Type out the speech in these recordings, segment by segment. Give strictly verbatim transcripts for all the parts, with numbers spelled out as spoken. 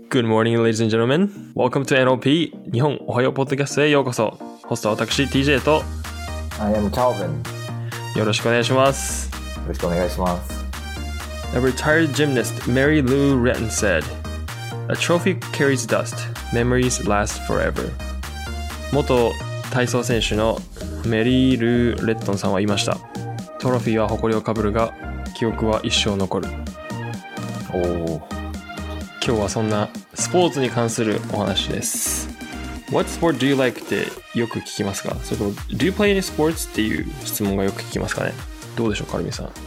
Good morning, ladies and gentlemen. Welcome to エヌオーピー 日本おはようポッドキャストへようこそ。ホストは私 ティージェー と I am Calvin. よろしくお願いします。 よろしくお願いします。 A retired gymnast, Mary Lou Retton said, "A trophy carries dust. Memories last forever." 元体操選手のメリー・ルー・レットンさんは言いました。トロフィーは誇りをかぶるが、記憶は一生残る。 おお。 今日はそんなスポーツに関するお話です。What sport do you like? ってよく聞きますか？それとも Do you play any sports? っていう質問がよく聞きますかね。どうでしょう、カルミさん。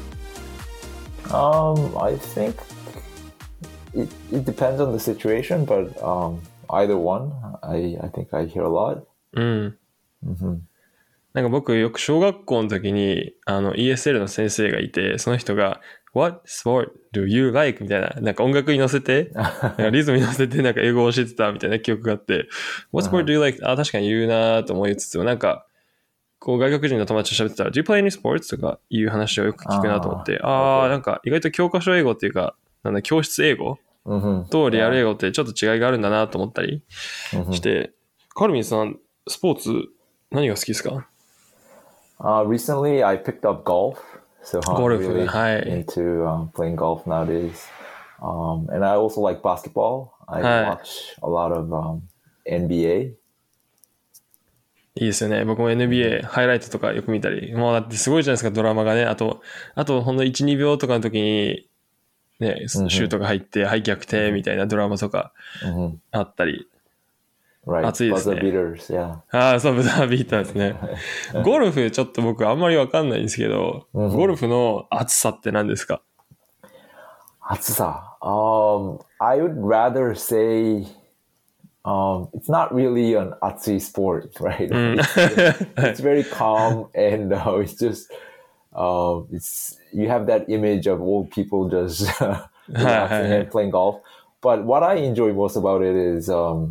Um, I think it, it depends on the situation, but um, either one, I, I think I hear a lot. うん。 Mm-hmm. なんか僕よく小学校の時にあの イーエスエル の先生がいて、その人がWhat sport do you like? みたいな、なんか音楽に乗せて、なんかリズムに乗せてなんか英語を教えてたみたいな記憶があって、What sport do you like? あ、確かに言うなと思いつつも、なんか、こう外国人の友達と喋ってたら、Do you play any sports? とかいう話をよく聞くなと思って、ああ、なんか意外と教科書英語っていうか、なんだ、教室英語、 mm-hmm. とリアル英語ってちょっと違いがあるんだなと思ったりして、mm-hmm. カルミンさん、スポーツ何が好きですか ？Uh, recently, I picked up golf.So I'm really into um, playing golf nowadays. Um, and I also like basketball. I watch a lot of um, エヌビーエー. いいですよね。僕も エヌビーエー ハイライトとかよく見たり。もうだってすごいじゃないですか、ドラマがね。あと、あとほんのいち、にびょうとかの時に、ね、シュートが入って、はい、逆転みたいなドラマとかあったり。 Right. 熱いですね。 ブザービーターズ、yeah. ああ、そう、ブザービーターですね。ゴルフちょっと僕あんまりわかんないんですけど、mm-hmm. ゴルフの熱さって何ですか？ 熱さ、um, I would rather say, um, it's not really an 熱い sport, right? It's, it's very calm and uh, it's just, uh, it's you have that image of old people just relaxing and playing golf. But what I enjoy most about it is,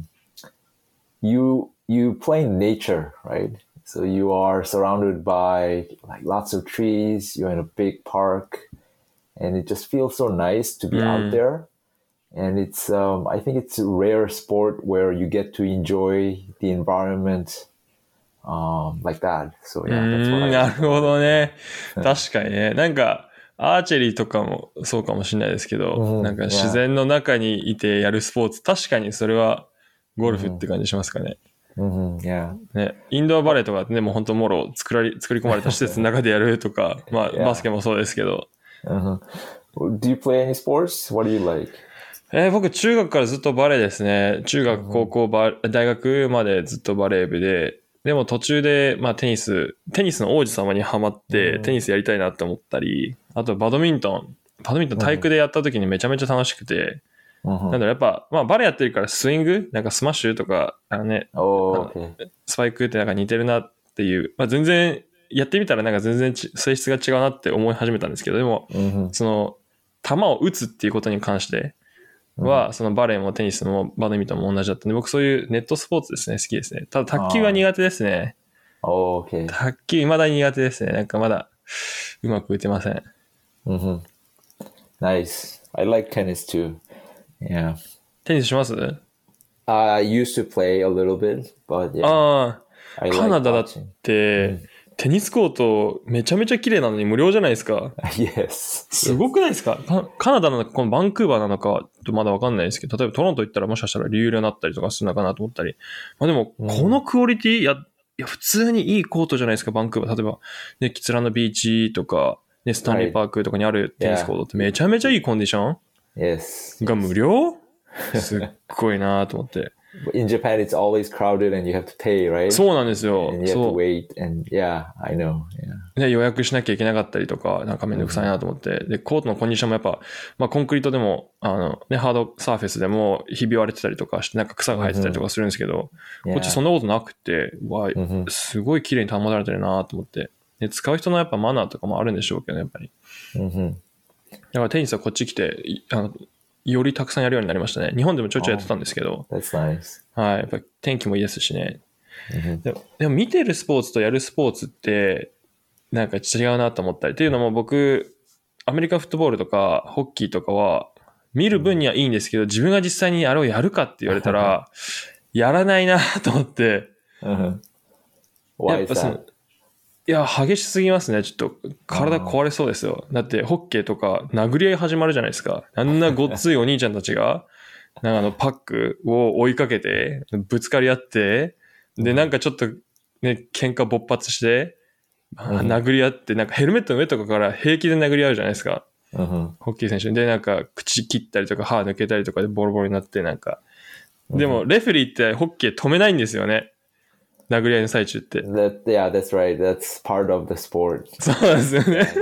um,You you play in nature, right? So you are surrounded by like lots of trees. You're in a big park, and it just feels so nice to be mm. out there. And it's um, I think it's a rare sport where you get to enjoy the environment um, like that. So yeah, that's what I. なるほどね。確かにね。なんかアーチェリーとかもそうかもしれないですけど、mm-hmm. なんか自然の中にいてやるスポーツ、確かにそれは。ゴルフって感じしますかね。 Mm-hmm. Yeah. ね、インドアバレーとかね、もう本当もろ作らり作り込まれた施設の中でやるとか、まあ、yeah. バスケもそうですけど。 Uh-huh. Do you play any sports? What do you like? えー、僕中学からずっとバレーですね。中学、高校、バ大学までずっとバレー部で、でも途中でまあテニス、テニスの王子様にハマって、mm-hmm. テニスやりたいなって思ったり、あとバドミントン、バドミントン体育でやった時にめちゃめちゃ楽しくて。なんだろうやっぱ、まあ、バレーやってるからスイングなんかスマッシュとかあのね、 oh, okay. スパイクってなんか似てるなっていう、まあ、全然やってみたらなんか全然性質が違うなって思い始めたんですけど、でも、mm-hmm. その球を打つっていうことに関しては、mm-hmm. そのバレーもテニスもバドミントンも同じだったんで、僕そういうネットスポーツですね、好きですね。ただ卓球は苦手ですね。 oh, okay. 卓球未だに苦手ですね。なんかまだうまく打てません。 Mm-hmm. Nice. I like tennis too.Yeah. テニスします？ I used to play a little bit, but yeah. ああ、カナダだって、 mm. テニスコートめちゃめちゃ綺麗なのに無料じゃないですか。 Yes. すごくないですか？カナダなのか、このバンクーバーなのかとまだわかんないですけど、例えばトロント行ったらもしかしたら有料になったりとかするのかなと思ったり。まあでも、このクオリティ、いや、いや普通にいいコートじゃないですか、バンクーバー。例えば、ね、キツラのビーチとか、ね、スタンリーパークとかにあるテニスコートってめちゃめちゃいいコンディション Yes. が無料すっごいなと思って。 In Japan, it's always crowded and you have to pay, right? そうなんですよ。 And you have to wait and yeah, I know. Yeah. ね、予約しなきゃいけなかったりとか、なんかめんどくさいなと思って。で、コートのコンディションもやっぱ、まあコンクリートでも、あの、ね、ハードサーフェスでもひび割れてたりとかして、なんか草が生えてたりとかするんですけど、mm-hmm. こっちそんなことなくて、わ、mm-hmm. すごい綺麗に保たれてるなと思って。で、使う人のやっぱマナーとかもあるんでしょうけど、やっぱり。 Mm-hmm. だからテニスはこっち来て、あの、よりたくさんやるようになりましたね。日本でもちょいちょいやってたんですけど。 Oh, that's nice. はい。やっぱり天気もいいですしね。 Mm-hmm. でも、でも見てるスポーツとやるスポーツって、なんか違うなと思ったり。っていうのも僕、アメリカフットボールとかホッキーとかは見る分にはいいんですけど、自分が実際にあれをやるかって言われたら、やらないなと思って。 Uh-huh. やっぱその、いや、激しすぎますね。ちょっと、体壊れそうですよ。だって、ホッケーとか、殴り合い始まるじゃないですか。あんなごっついお兄ちゃんたちが、なんかあの、パックを追いかけて、ぶつかり合って、で、なんかちょっと、ね、喧嘩勃発して、殴り合って、なんかヘルメットの上とかから平気で殴り合うじゃないですか。 Uh-huh. ホッケー選手で、なんか口切ったりとか歯抜けたりとかでボロボロになって、なんか。でも、レフェリーってホッケー止めないんですよね。殴り合いの最中って。 That, yeah, that's right. That's part of the sport. そうですよね。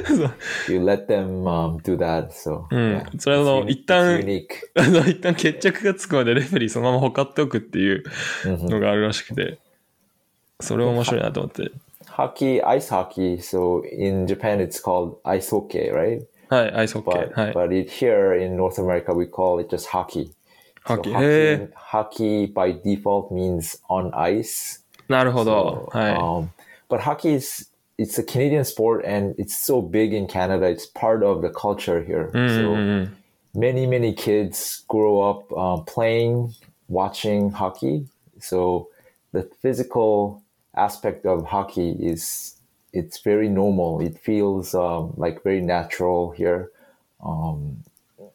you, you let them、um, do that. So, うん。 yeah. それはあの、一旦、あの、一旦決着がつくまでレフェリーそのままほかっておくっていうのがあるらしくて、それ面白いなと思って。 Hockey, ice hockey. So in Japan, it's called ice hockey, right? はい、アイスホッケー。はい。 But it, here in North America, we call it just hockey. Hockey. So hockey, hockey by default means on ice. なるほど。 So, はい。 Um, but hockey is, it's a Canadian sport and it's so big in Canada. It's part of the culture here. Mm-hmm. So many, many kids grow up uh, playing, watching hockey. So the physical aspect of hockey is it's very normal. It feels um, like very natural here. Um,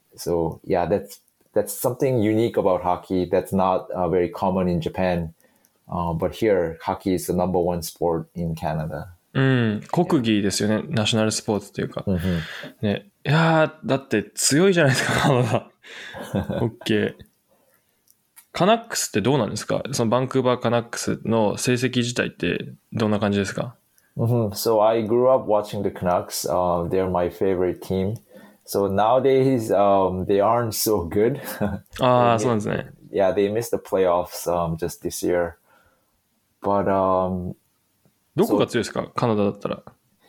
so yeah, that's that's something unique about hockey that's not uh, very common in Japan. Uh, but here, hockey is the number one sport in Canada. うん、国技ですよね。ナショナルスポーツというか。 Mm-hmm. ね、いやー、だって強いじゃないですか、カナダ。オッケー。カナックスってどうなんですか？そのバンクーバーカナックスの成績自体ってどんな感じですか？ Mm-hmm. So I grew up watching the Canucks. Uh, they're my favorite team. So nowadays, um, they aren't so good. ああ、そうなんですね。 Yeah, they missed the playoffs um, just this year. But um, どこが強いですか？ So, カナダだったら。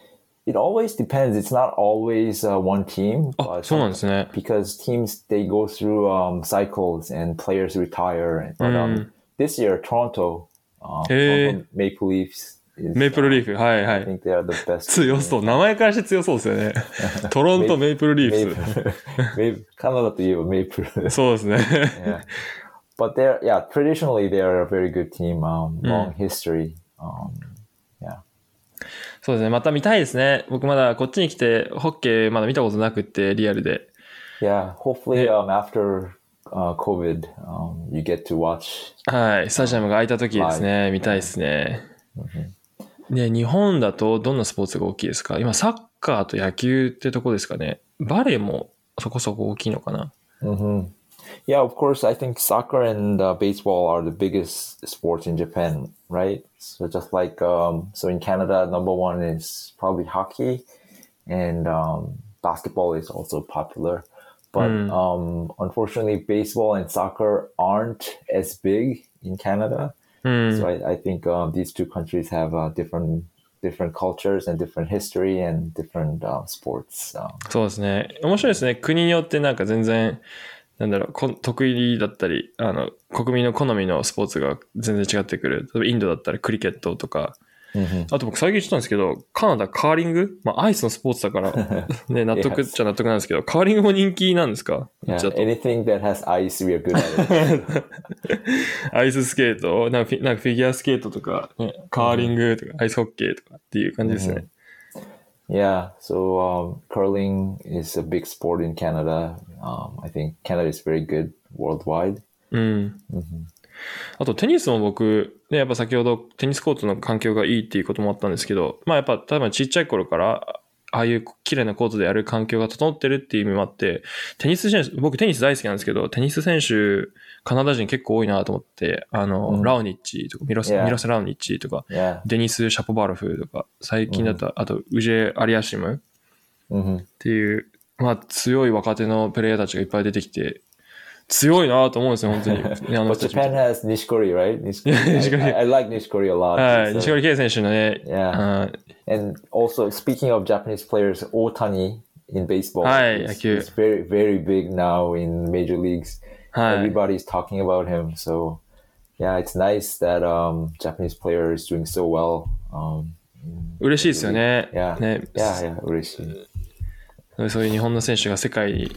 It always depends. It's not always uh, one team. あ、そうなんですね。 Because teams, they go through um, cycles and players retire. But um, this year, Toronto, uh, Toronto Maple Leafs. メイプルリーフ、はいはい。 I think they are the best. 強そう。名前からして強そうですよね。トロントメイプルリーフス。 カナダといえばメイプル。 そうですね。 yeah. But they're, yeah, traditionally they're a very good team. Um, long history. Um, yeah. そうですね。また見たいですね。僕まだこっちに来て、ホッケーまだ見たことなくって、リアルで。 Yeah, hopefully um, after uh, COVID, um, you get to watch. はい。スタジアムが空いた時ですね。見たいですね。で、日本だとどんなスポーツが大きいですか？今、サッカーと野球ってとこですかね。バレーもそこそこ大きいのかな。 Mm-hmm. Yeah, of course, I think soccer and uh, baseball are the biggest sports in Japan, right? So just like, um, so in Canada, number one is probably hockey, and um, basketball is also popular. But mm. um, unfortunately, baseball and soccer aren't as big in Canada. Mm. So I, I think um, these two countries have uh, different different cultures and different history and different uh, sports. Um, そうですね。面白いですね。国によってなんか全然なんだろう、こ得意だったり、あの、国民の好みのスポーツが全然違ってくる。例えばインドだったらクリケットとか、mm-hmm. あと僕最近知ったんですけど、カナダカーリング、まあアイスのスポーツだから、ね、納得っちゃ納得なんですけど、カーリングも人気なんですか？ Yeah, anything that has ice, we are good at it. アイススケート、なんかフィ、なんかフィギュアスケートとか、ね、カーリングとか、mm-hmm. アイスホッケーとかっていう感じですね。 Mm-hmm.Yeah, so um, curling is a big sport in Canada. Um, I think Canada is very good worldwide. うん。Mm-hmm. あとテニスも僕、ね、やっぱ先ほどテニスコートの環境がいいっていうこともあったんですけど、まあやっぱ多分ちっちゃい頃からああいう綺麗なコートでやる環境が整ってるっていう意味もあって、テニス選手、僕テニス大好きなんですけど、テニス選手、カナダ人結構多いなと思って、あの、うん、ラウニッチとか、ミロス、yeah. ミロスラウニッチとか、 yeah. デニス・シャポバロフとか、最近だと、うん、あと、ウジェ・アリアシムっていう、まあ強い若手のプレイヤーたちがいっぱい出てきて、強いなと思うんですよ、本当に。 But Japan has Nishikori, right? Nishikori. I, I like Nishikori a lot. はい、Nishikori Kei 選手のね。 Yeah. And also, speaking of Japanese players, Otani in baseball はい、 is, is very, very big now in major leagues. はい。 Everybody's talking about him. So, yeah, it's nice that um, Japanese player is doing so well. Um, 嬉しいですよね。 Yeah, ね。 yeah, yeah, 嬉しい。 そういう日本の選手が世界に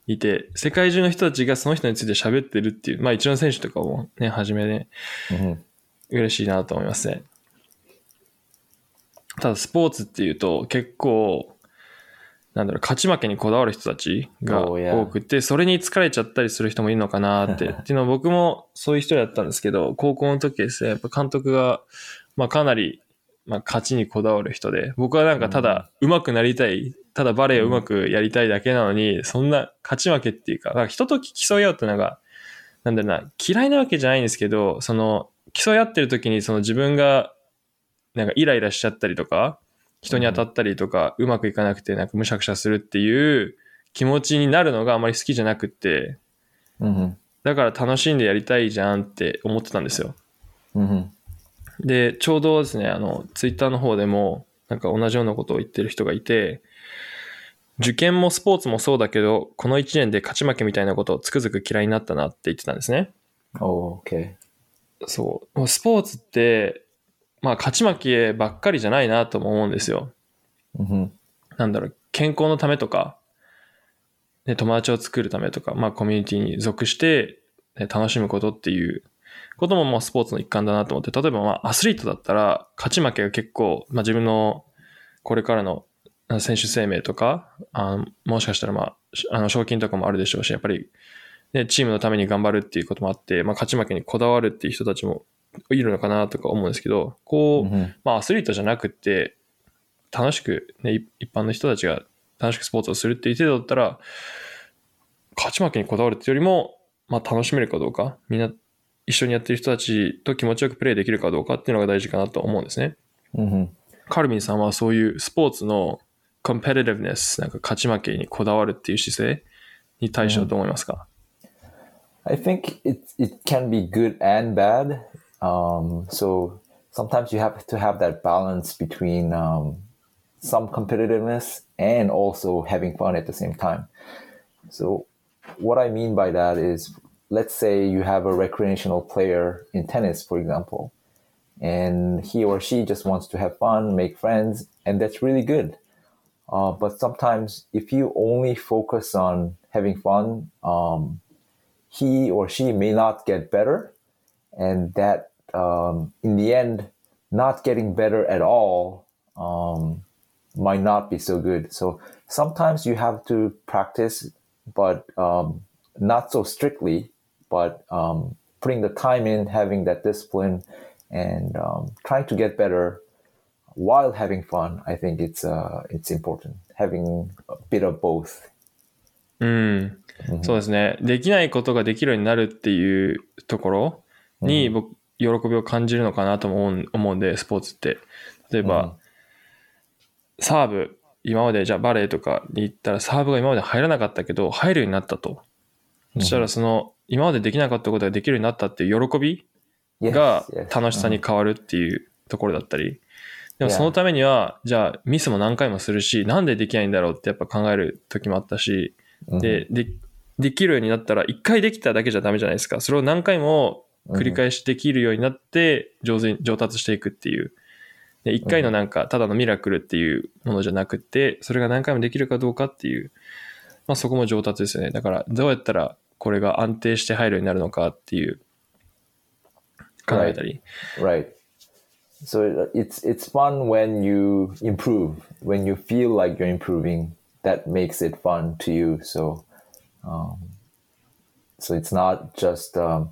いて、世界中の人たちがその人について喋ってるっていう、まあ一応選手とかもね、はじめね、 Mm-hmm. 嬉しいなと思いますね。ただスポーツっていうと結構、なんだろう、勝ち負けにこだわる人たちが Oh, yeah. 多くて、それに疲れちゃったりする人もいるのかなって。っていうのは僕もそういう人だったんですけど、高校の時ですね、やっぱ監督が、まあかなり、まあ勝ちにこだわる人で、僕はなんかただ上手くなりたい、ただバレエを上手くやりたいだけなのに、そんな勝ち負けっていうか、なんか人と競い合うとなんか、なんだろうな、嫌いなわけじゃないんですけど、その、競い合ってる時にその自分が、なんかイライラしちゃったりとか、人に当たったりとか、うまくいかなくてなんかむしゃくしゃするっていう気持ちになるのがあまり好きじゃなくって、 Mm-hmm. だから楽しんでやりたいじゃんって思ってたんですよ。 Mm-hmm. で、ちょうどですね、あの、ツイッターの方でも、なんか同じようなことを言ってる人がいて、受験もスポーツもそうだけど、この一年で勝ち負けみたいなことをつくづく嫌いになったなって言ってたんですね。 Oh, okay. そう。スポーツって、まあ勝ち負けばっかりじゃないなとも思うんですよ。 Mm-hmm. なんだろう、健康のためとか、ね、友達を作るためとか、まあコミュニティに属して、ね、楽しむことっていうこともまあスポーツの一環だなと思って、例えばまあアスリートだったら勝ち負けが結構、まあ自分のこれからの選手生命とか、あもしかしたらまあ、あの賞金とかもあるでしょうし、やっぱり、ね、チームのために頑張るっていうこともあって、まあ勝ち負けにこだわるっていう人たちもいるのかなとか思うんですけど、こう、 Mm-hmm. まあアスリートじゃなくて、楽しく、ね、一般の人たちが楽しくスポーツをするっていう程度だったら、勝ち負けにこだわるっていうよりも、まあ楽しめるかどうか、みんな一緒にやってる人たちと気持ちよくプレーできるかどうかっていうのが大事かなと思うんですね。 Mm-hmm. カルビンさんはそういうスポーツのコンペティティブネス、なんか勝ち負けにこだわるっていう姿勢に対してはどう思いますか？ I think it it can be good and bad. Um, so sometimes you have to have that balance between um, some competitiveness and also having fun at the same time. So what I mean by that is, let's say you have a recreational player in tennis, for example, and he or she just wants to have fun, make friends, and that's really good. Uh, but sometimes if you only focus on having fun, um, he or she may not get better, and that um, in the end, not getting better at all um, might not be so good. So sometimes you have to practice, but um, not so strictly, but um, putting the time in, having that discipline, and um, trying to get better while having fun. I think it's uh, it's important, having a bit of both. うん、そうですね。できないことができるようになるっていうところに僕、喜びを感じるのかなとも思うんで、スポーツって。例えば、サーブ、今までじゃあバレーとかに行ったらサーブが今まで入らなかったけど、入るようになったと。そしたらその、今までできなかったことができるようになったっていう喜びが楽しさに変わるっていうところだったり。でもそのためには、じゃあミスも何回もするし、なんでできないんだろうってやっぱ考える時もあったし、で、で、できるようになったら一回できただけじゃダメじゃないですか。それを何回も繰り返しできるようになって上手に上達していくっていう。で、一回のなんかただのミラクルっていうものじゃなくて、それが何回もできるかどうかっていう、まあそこも上達ですよね。だからどうやったらこれが安定して入るようになるのかっていう考えたり。 Right. So it's it's fun when you improve, when you feel like you're improving. That makes it fun to you. So, um, so it's not just, um,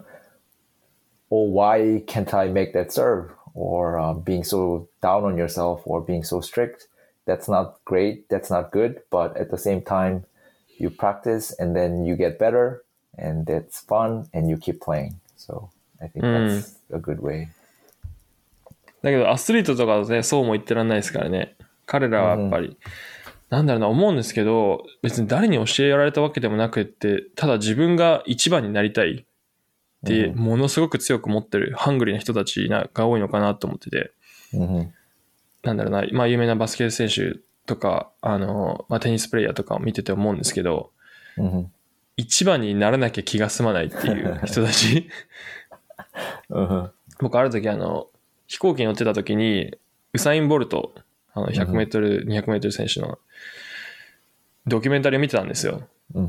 oh, why can't I make that serve? Or uh, being so down on yourself or being so strict. That's not great. That's not good. But at the same time, you practice and then you get better and it's fun and you keep playing. So I think that's a good way. だけどアスリートとかだとね、そうも言ってらんないですからね。彼らはやっぱり、うん、なんだろうな、思うんですけど、別に誰に教えられたわけでもなくって、ただ自分が一番になりたいって、ものすごく強く持ってる、ハングリーな人たちが多いのかなと思ってて、 うん、 なんだろうな、まあ有名なバスケ選手とか、あの、まあテニスプレイヤーとかを見てて思うんですけど、 うん、 一番にならなきゃ気が済まないっていう人たち。 うん、 僕ある時あの、飛行機に乗ってた時に、ウサイン・ボルト、あのひゃくメートル、にひゃくメートル選手のドキュメンタリーを見てたんですよ。 うん、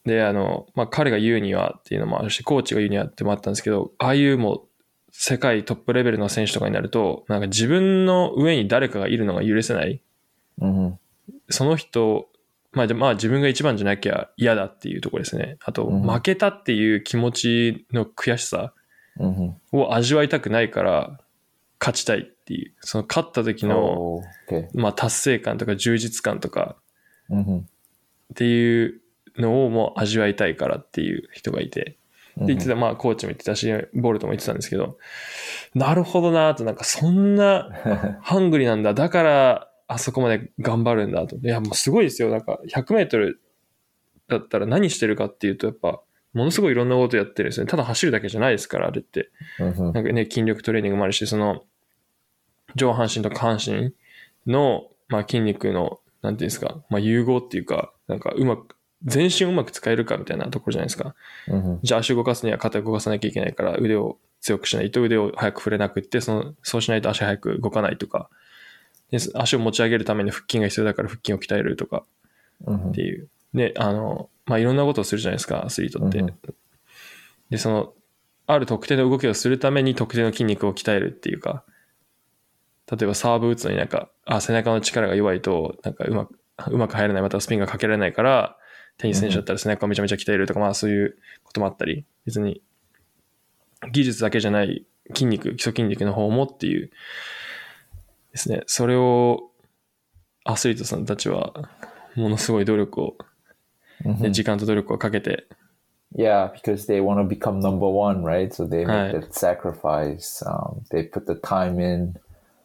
で、あの、まあ、彼が言うにはっていうのもあるし、コーチが言うにはってもあったんですけど、ああいうもう世界トップレベルの選手とかになると、なんか自分の上に誰かがいるのが許せない。 Mm-hmm. その人、まあ、まあ自分が一番じゃなきゃ嫌だっていうところですね。あと、 うん負けたっていう気持ちの悔しさ Mm-hmm. を味わいたくないから勝ちたいっていう、その勝った時の、 Oh, okay. まあ達成感とか充実感とか Mm-hmm. っていうのをもう味わいたいからっていう人がいて、で言ってた、まあコーチも言ってたし、ボルトも言ってたんですけど、なるほどなと、なんかそんなハングリーなんだ、だからあそこまで頑張るんだと。いやもうすごいですよ。なんかひゃくメートルだったら何してるかっていうと、やっぱものすごいいろんなことやってるんですね。ただ走るだけじゃないですから、あれって。 Mm-hmm. なんかね、筋力トレーニングもあるし、その上半身と下半身の、まあ、筋肉の、なんていうんですか、まあ、融合っていうか、なんかうまく、全身をうまく使えるかみたいなところじゃないですか。 Mm-hmm. じゃあ足を動かすには肩を動かさなきゃいけないから腕を強くしないと腕を早く振れなくって、その、そうしないと足早く動かないとか、で足を持ち上げるために腹筋が必要だから腹筋を鍛えるとかっていう。で、あの、まあ、いろんなことをするじゃないですか、アスリートって。 Mm-hmm. で、その、ある特定の動きをするために特定の筋肉を鍛えるっていうか、例えばサーブ打つのになんか、あ、背中の力が弱いと、なんかうまく、うまく入らない、またスピンがかけられないから、テニス選手だったら背中をめちゃめちゃ鍛えるとか、まあそういうこともあったり、別に技術だけじゃない筋肉、基礎筋肉の方もっていうですね。それをアスリートさんたちはものすごい努力を、 Mm-hmm. ね、時間と努力をかけて。 Yeah, because they want to become number one, right? So they make はい。 that sacrifice. Um, they put the time in,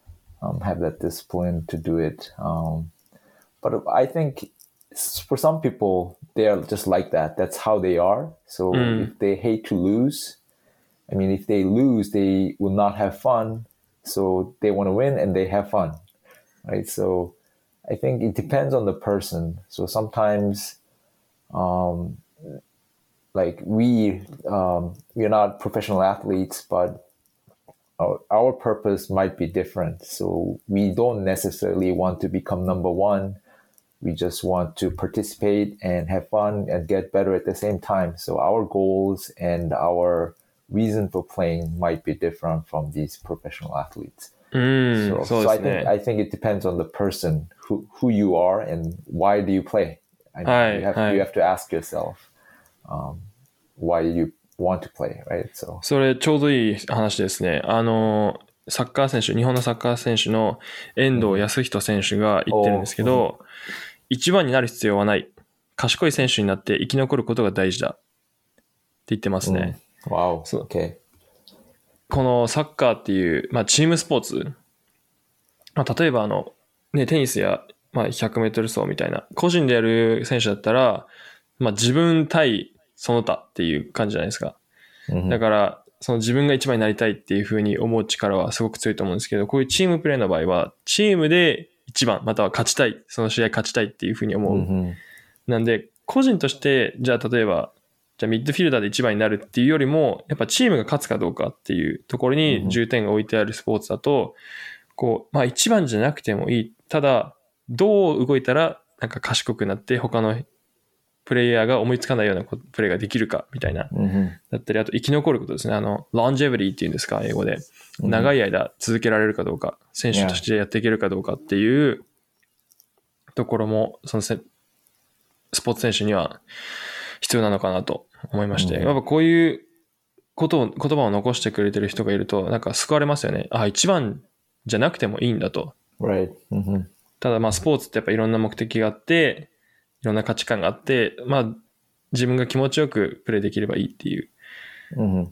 um, have that discipline to do it. Um, but I think for some people, they are just like that. That's how they are. So if they hate to lose, I mean, if they lose, they will not have fun. So they want to win and they have fun, right? So I think it depends on the person. So sometimes, um, like we, um, we're not professional athletes, but our, our purpose might be different. So we don't necessarily want to become number one. We just want to participate and have fun and get better at the same time. So our goals and our reason for playing might be different from these professional athletes. うん、 So, そう so で I すね。 think I think it depends on the person who, who you are and why do you play. I mean, はい、 you have はい。 you have to ask yourself, um, why you want to play, right? So それちょうどいい話ですね。あの、サッカー選手、日本のサッカー選手の遠藤康人選手が言ってるんですけど、一番になる必要はない。賢い選手になって生き残ることが大事だ。って言ってますね。 mm, wow, そう okay. このサッカーっていう、まあ、チームスポーツ。まあ、例えばあの、ね、テニスや、まあ、ひゃくメートル走みたいな、個人でやる選手だったら、まあ、自分対その他っていう感じじゃないですか。 Mm-hmm. だから、その自分が一番になりたいっていう風に思う力はすごく強いと思うんですけど、こういうチームプレーの場合は、チームで一番、または勝ちたい、その試合勝ちたいっていう風に思う。 Mm-hmm. なんで、個人として、じゃあ例えば、じゃあミッドフィルダーで一番になるっていうよりも、やっぱチームが勝つかどうかっていうところに重点が置いてあるスポーツだと、こう、まあ一番じゃなくてもいい。ただ、どう動いたらなんか賢くなって他のプレイヤーが思いつかないようなプレーができるかみたいな。 Mm-hmm. だったり、あと生き残ることですね。あの、longevity っていうんですか、英語で。長い間続けられるかどうか、選手としてやっていけるかどうかっていうところも、そのスポーツ選手には必要なのかなと思いまして、やっぱこういうことを、言葉を残してくれてる人がいると、なんか救われますよね。あ、一番じゃなくてもいいんだと。 Right. Mm-hmm. ただまあスポーツってやっぱいろんな目的があって、いろんな価値観があって、まあ自分が気持ちよくプレーできればいいっていう。 Mm-hmm.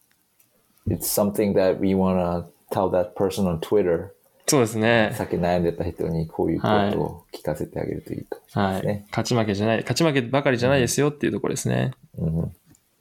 It's something that we want to tell that person on Twitter. そうですね。 さっき悩んでた人にこういうことを聞かせてあげるといいかもしれないですね。 はい。勝ち負けじゃない、勝ち負けばかりじゃないですよっていうところですね。 Mm-hmm.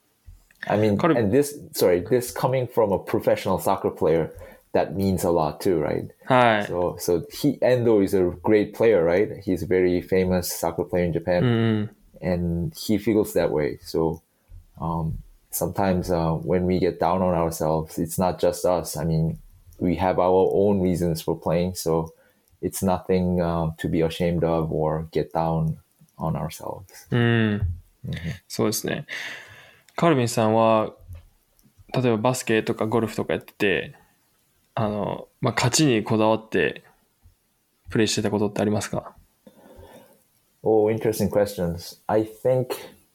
I mean, and this, sorry, this coming from a professional soccer player, that means a lot too, right? はい。 So, so he, Endo is a great player, right? He's a very famous soccer player in Japan, うん、 and he feels that way. So, um, sometimes uh, when we get down on ourselves, it's not just us. I mean, we have our own reasons for playing, so it's nothing uh, to be ashamed of or get down on ourselves. うん。 そうですね。カルビンさんは例えばバスケとかゴルフとかやってて、あの、まあ、勝ちにこだわってプレイしてたことってありますか？ Oh, interesting questions. I think,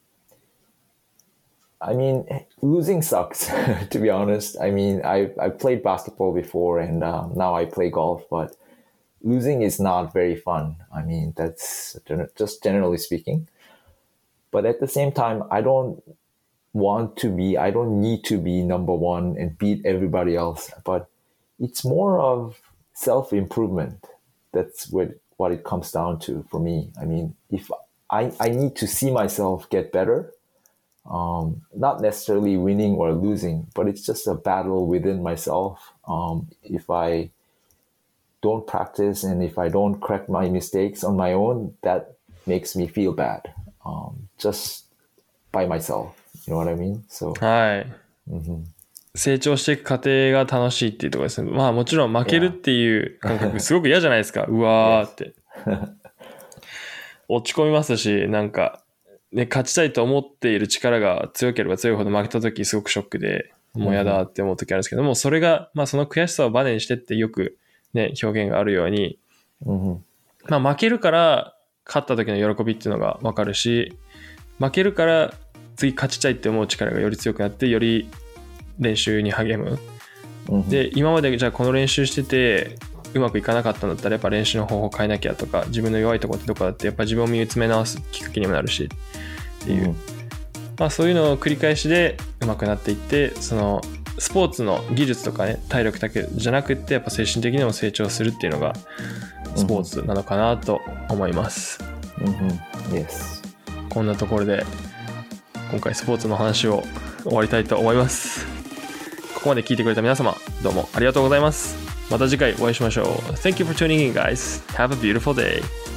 I mean, losing sucks, to be honest. I mean, I I played basketball before, and um, now I play golf, but losing is not very fun. I mean, that's just generally speaking. But at the same time, I don't want to be, I don't need to be number one and beat everybody else. But it's more of self-improvement. That's what, what it comes down to for me. I mean, if I, I need to see myself get better, um, not necessarily winning or losing, but it's just a battle within myself. Um, if I don't practice and if I don't correct my mistakes on my own, that makes me feel bad, um, just by myself. You know what I mean? So, はい。 mm-hmm. 成長していく過程が楽しいっていうところですね。まあもちろん負けるっていう感覚すごく嫌じゃないですか。うわーって。落ち込みますし、なんか、ね、勝ちたいと思っている力が強ければ強いほど負けた時すごくショックで、もう嫌だって思う時あるんですけども、それが、まあその悔しさをバネにしてってよくね、表現があるように、 mm-hmm. まあ負けるから勝った時の喜びっていうのが分かるし、負けるから次勝ちたいって思う力がより強くなって、より練習に励む、うん、で今までじゃあこの練習しててうまくいかなかったんだったらやっぱ練習の方法変えなきゃとか、自分の弱いところってどこだってやっぱ自分を見つめ直すきっかけにもなるしっていう、うん、まあそういうのを繰り返しでうまくなっていって、そのスポーツの技術とかね、体力だけじゃなくってやっぱ精神的にも成長するっていうのがスポーツなのかなと思います、 うんうん、yes. こんなところで今回スポーツの話を終わりたいと思います。ここまで聞いてくれた皆様、どうもありがとうございます。また次回お会いしましょう。 Thank you for tuning in, guys. Have a beautiful day.